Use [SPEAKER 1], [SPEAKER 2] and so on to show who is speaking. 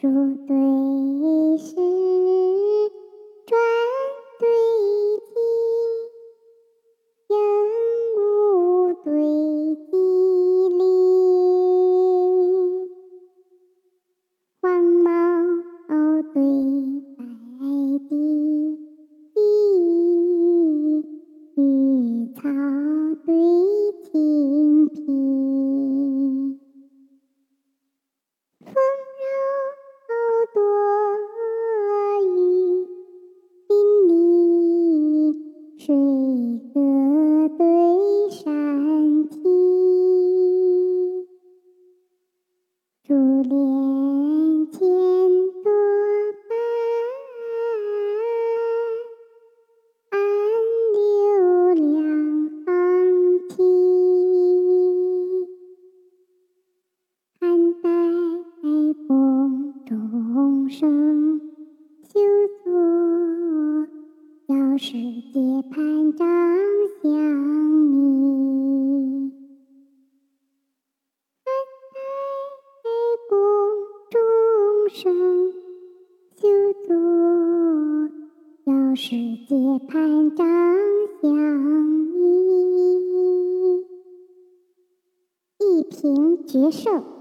[SPEAKER 1] 数对时，转对己，人物对己理，黄毛对白地，绿草对青皮，丰饶多雨，淋漓水阁对山体，珠帘前多白，暗流两行啼，汉代宫中声，休作要世界潘张相迷。汉代宫中声，休作要世界潘张相迷。一平决胜。